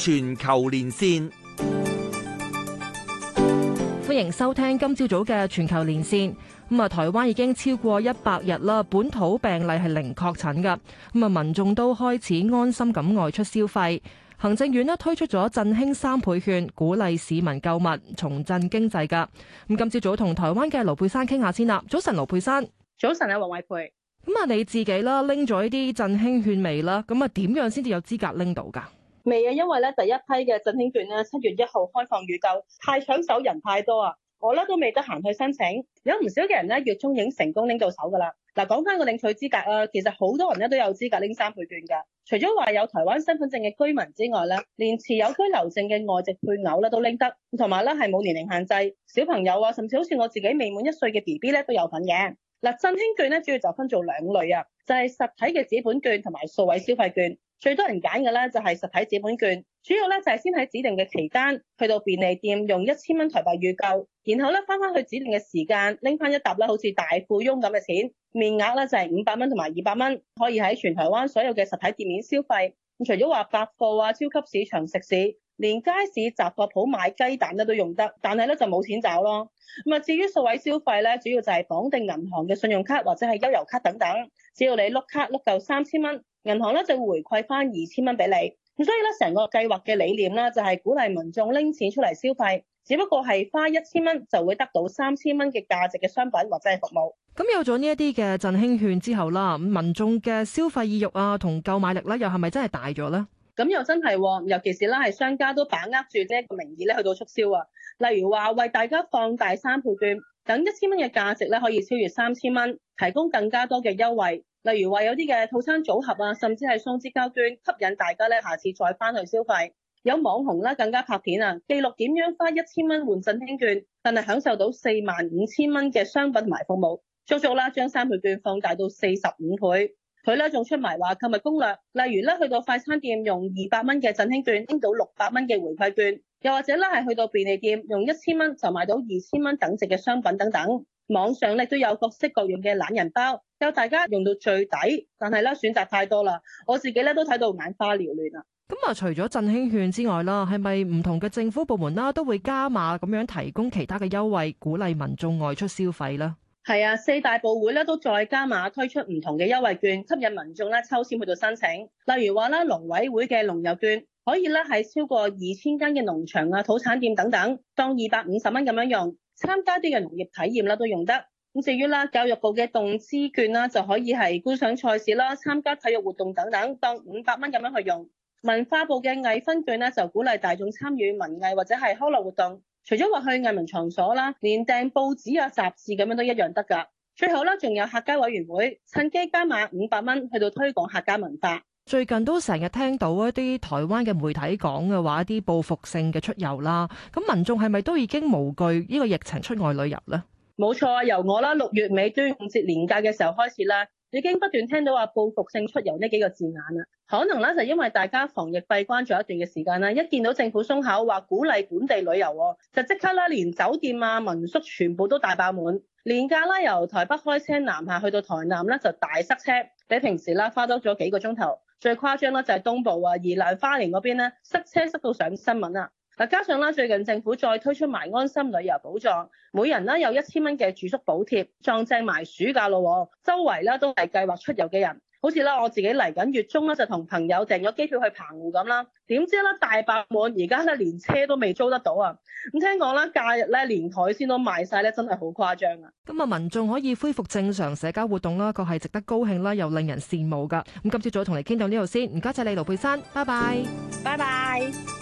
全球連線， 歡迎收聽今朝早嘅全球連線。台灣已經超過100日啦，本土病例係零確診㗎。民眾都開始安心咁外出消費。行政院推出咗振興3倍券，鼓勵市民購物，重振經濟㗎。今朝早同台灣嘅盧珮珊傾下先啦。早晨，盧珮珊。 早晨啊，黃慧培。 你自己啦拎咗呢啲振興券未啦？點樣先至有資格拎到㗎？ 未啊，因為第一批嘅振興券7月1號開放預購，太搶手，人太多啊，我都未得閒去申請。有唔少嘅人月中已經成功拎到手㗎啦。講翻個領取資格啊，其實好多人都有資格拎3倍券㗎。除咗話有台灣身份證嘅居民之外連持有居留證嘅外籍配偶都拎得，同埋係冇年齡限制，小朋友啊，甚至好似我自己未滿1歲嘅 BB 都有份嘅。振興券主要就分做2類啊，就係實體嘅紙本券同埋數位消費券。最多人揀嘅就係實體紙本券，主要就係先喺指定嘅期間去到便利店用1000蚊台幣預購，然後翻去指定嘅時間拎翻一沓好似大富翁咁嘅錢，面額就係500蚊同埋200蚊，可以喺全台灣所有嘅實體店面消費。除咗話百貨啊、超級市場、食肆，連街市雜貨鋪買雞蛋都用得，但係就冇錢找咯。至於數位消費主要就係綁定銀行嘅信用卡或者係悠遊卡等等，只要你碌卡碌夠3000蚊，銀行就會回饋翻2000蚊俾你。所以成個計劃嘅理念就係鼓勵民眾拎錢出嚟消費，只不過係花1000蚊就會得到3000蚊嘅價值嘅商品或者係服務。 有咗呢一啲嘅振興券之後啦，民眾嘅消費意欲啊同購買力又係咪真係大咗呢？ 咁又真係，尤其是係商家都把握住呢一個名義去到促銷啊。例如話為大家放大3倍券，等1000蚊嘅價值可以超越3000蚊，提供更加多嘅優惠。例如話有啲嘅套餐組合啊，甚至係送支膠卷，吸引大家下次再翻去消費。有網紅更加拍片啊，記錄點樣花1000蚊換振興券，但係享受到45000蚊嘅商品同埋服務，足足將3倍券放大到45倍。佢仲出埋話購物攻略，例如去到快餐店用200蚊嘅振興券拎到600蚊嘅回饋券，又或者係去到便利店用1000蚊就買到2000蚊等值嘅商品等等。網上都有各式各樣嘅懶人包，教大家用到最抵，但係選擇太多啦，我自己都睇到眼花繚亂啊。 除咗振興券之外啦，係咪唔同嘅政府部門都會加碼咁樣提供其他嘅優惠，鼓勵民眾外出消費呢？ 係啊，4大部會都再加碼推出唔同嘅優惠券，吸引民眾抽籤去到申請。例如話農委會嘅農遊券，可以喺超過2000間嘅農場啊、土產店等等，當250蚊咁樣用，參加啲嘅農業體驗都用得。至於教育部嘅動資券就可以係觀賞賽事啦、參加體育活動等等，當500蚊咁樣去用。文化部嘅藝分券就鼓勵大眾參與文藝或者係康樂活動。除咗話去藝文場所啦，連訂報紙啊、雜誌咁樣都一樣得㗎。最後仲有客家委員會趁機加碼500蚊去到推廣客家文化。 最近都成日聽到一啲台灣嘅媒體講嘅話，一啲報復性嘅出遊啦。咁民眾係咪都已經無懼呢個疫情出外旅遊呢？ 冇錯啊，由我6月尾端午節連假嘅時候開始啦，已經不斷聽到話報復性出遊呢幾個字眼啦。可能就因為大家防疫閉關咗一段嘅時間啦，一見到政府鬆口話鼓勵本地旅遊，就即刻連酒店啊、民宿全部都大爆滿。連假由台北開車南下去到台南就大塞車，比平時花多咗幾個鐘頭。最誇張就係東部啊、宜蘭花蓮嗰邊塞車塞到上新聞啊！加上最近政府再推出埋安心旅遊補助，每人有1000蚊嘅住宿補貼，撞正埋暑假咯，周圍都係計劃出遊嘅人。好似我自己嚟緊月中就同朋友訂咗機票去澎湖咁啦，點知大爆滿，而家連車都未租得到啊！咁聽講假日連海鮮都賣晒真係好誇張啊！ 咁民眾可以恢復正常社交活動啦，確係值得高興啦，又令人羨慕噶。咁今朝早同你傾到呢度先，唔該晒你盧珮珊，拜拜， 拜拜。